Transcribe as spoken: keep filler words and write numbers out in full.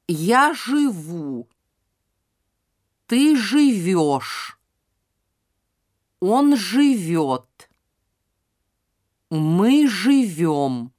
Я живу. Ты живешь. Он живет. Мы живем.